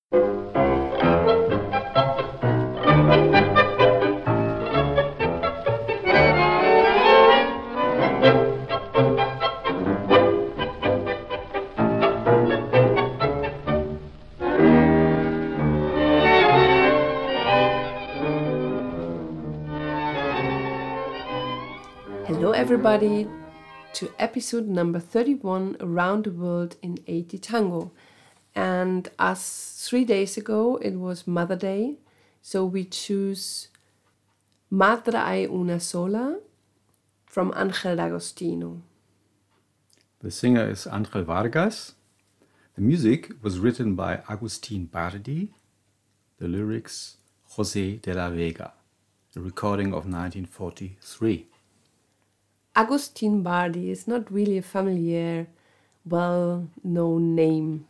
Hello everybody to episode number 31, Around the World in 80 Tango. And as 3 days ago it was Mother Day, so we choose Madre hay una sola from Ángel D'Agostino. The singer is Ángel Vargas. The music was written by Agustín Bardi. The lyrics José de la Vega. A recording of 1943. Agustín Bardi is not really a familiar, well-known name,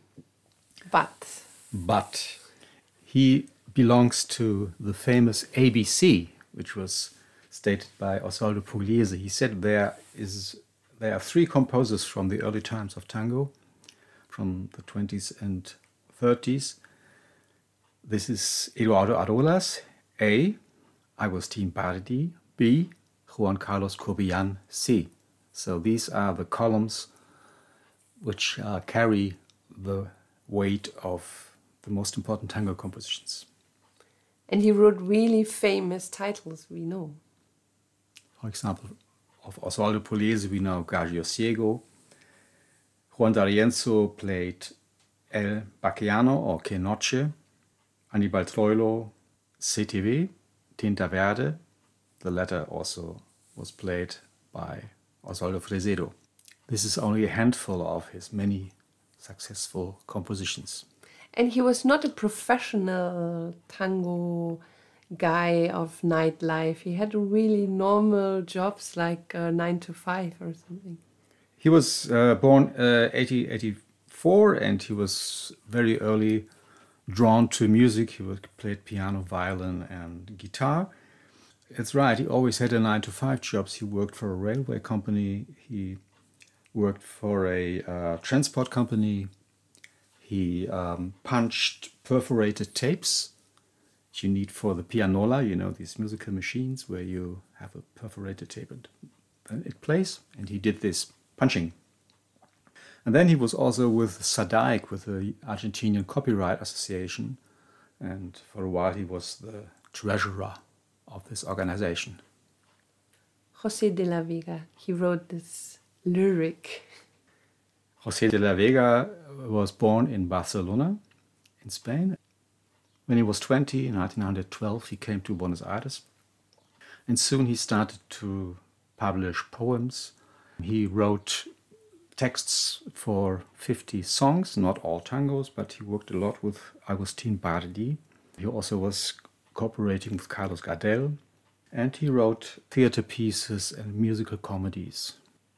but he belongs to the famous ABC, which was stated by Osvaldo Pugliese. He said there are three composers from the early times of tango, from the 20s and 30s. This is Eduardo Arolas, A, Agustín Bardi, B, Juan Carlos Corbillán, C. So these are the columns which carry the weight of the most important tango compositions. And he wrote really famous titles, we know. For example, of Osvaldo Pugliese we know Gagio Ciego. Juan D'Arienzo played El Bachiano or Que Noche. Aníbal Troilo, CTV, Tinta Verde. The latter also was played by Osvaldo Fresedo. This is only a handful of his many successful compositions. And he was not a professional tango guy of nightlife. He had really normal jobs like 9 to 5 or something. He was born 1884 and he was very early drawn to music. He played piano, violin and guitar. It's right, he always had a 9 to 5 jobs. He worked for a railway company. He worked for a transport company. He punched perforated tapes that you need for the pianola, you know, these musical machines where you have a perforated tape and then it plays. And he did this punching. And then he was also with SADAIC, with the Argentinian Copyright Association. And for a while he was the treasurer of this organization. José de la Vega, he wrote this lyric. José de la Vega was born in Barcelona, in Spain. When he was 20, in 1912, he came to Buenos Aires. And soon he started to publish poems. He wrote texts for 50 songs, not all tangos, but he worked a lot with Agustín Bardi. He also was cooperating with Carlos Gardel, and he wrote theater pieces and musical comedies.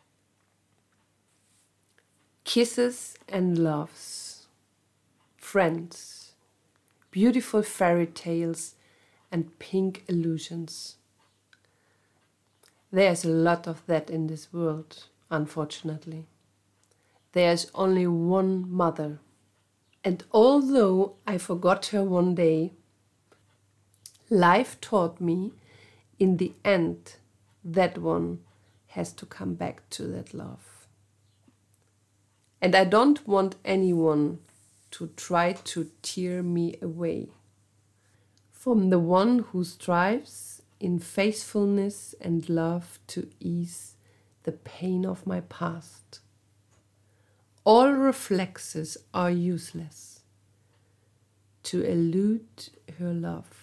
Kisses and loves, friends, beautiful fairy tales and pink illusions. There's a lot of that in this world, unfortunately. There's only one mother, and although I forgot her one day, life taught me, in the end, that one has to come back to that love. And I don't want anyone to try to tear me away from the one who strives in faithfulness and love to ease the pain of my past. All reflexes are useless to elude her love.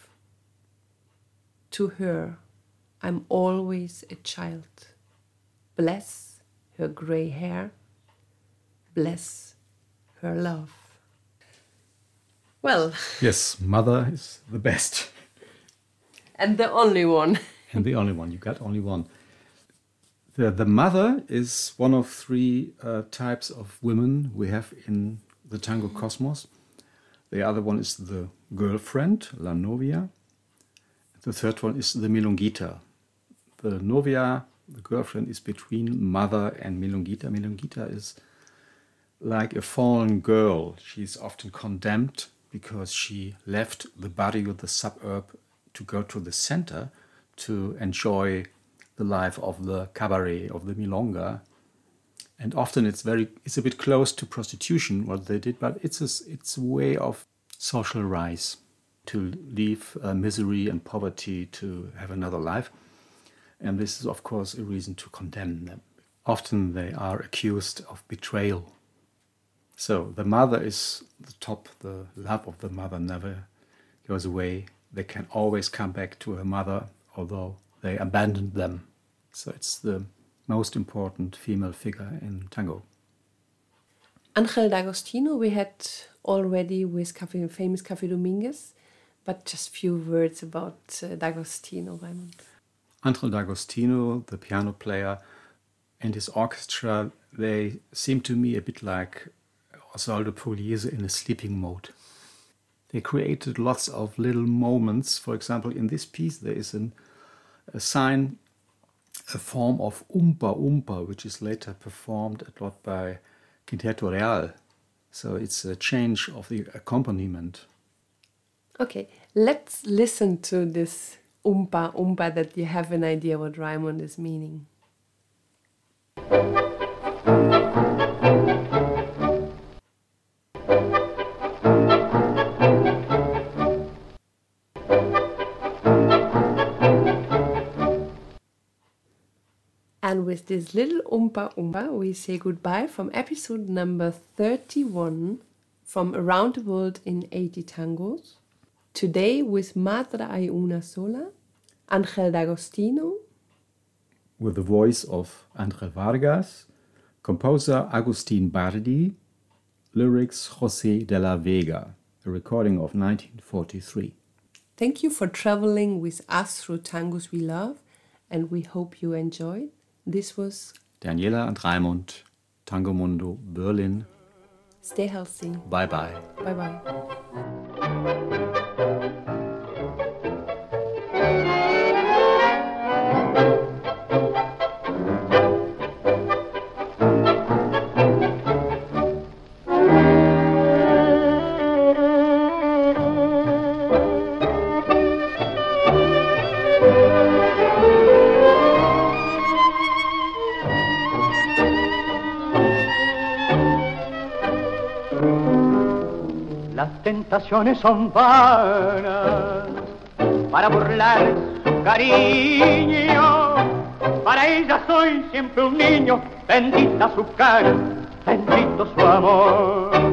To her, I'm always a child. Bless her grey hair. Bless her love. Well. Yes, mother is the best. And the only one. And the only one. You got only one. The mother is one of three types of women we have in the tango cosmos. The other one is the girlfriend, la novia. The third one is the milonguita. The novia, the girlfriend, is between mother and milonguita. Milonguita is like a fallen girl. She's often condemned because she left the barrio, the suburb, to go to the center to enjoy the life of the cabaret, of the milonga. And often it's a bit close to prostitution, what they did, but it's a way of social rise, to leave misery and poverty to have another life. And this is, of course, a reason to condemn them. Often they are accused of betrayal. So the mother is the top, the love of the mother never goes away. They can always come back to her mother, although they abandoned them. So it's the most important female figure in tango. Angel D'Agostino we had already with famous Café Dominguez, but just few words about D'Agostino, Raimund. Angel D'Agostino, the piano player, and his orchestra, they seem to me a bit like Osvaldo Pugliese in a sleeping mode. They created lots of little moments. For example, in this piece there is a sign, a form of umpa umpa, which is later performed a lot by Quinteto Real. So it's a change of the accompaniment. Okay, let's listen to this umpa umpa that you have an idea what Raimund is meaning. And with this little umpa umpa, we say goodbye from episode number 31 from Around the World in 80 Tangos. Today with Madre hay una sola, Angel D'Agostino. With the voice of André Vargas, composer Agustin Bardi, lyrics José de la Vega, a recording of 1943. Thank you for traveling with us through tangos we love, and we hope you enjoyed. This was Daniela and Raimund, Tango Mundo, Berlin. Stay healthy. Bye-bye. Bye-bye. Las tentaciones son vanas para burlar su cariño. Para ella soy siempre un niño, bendita su cara, bendito su amor.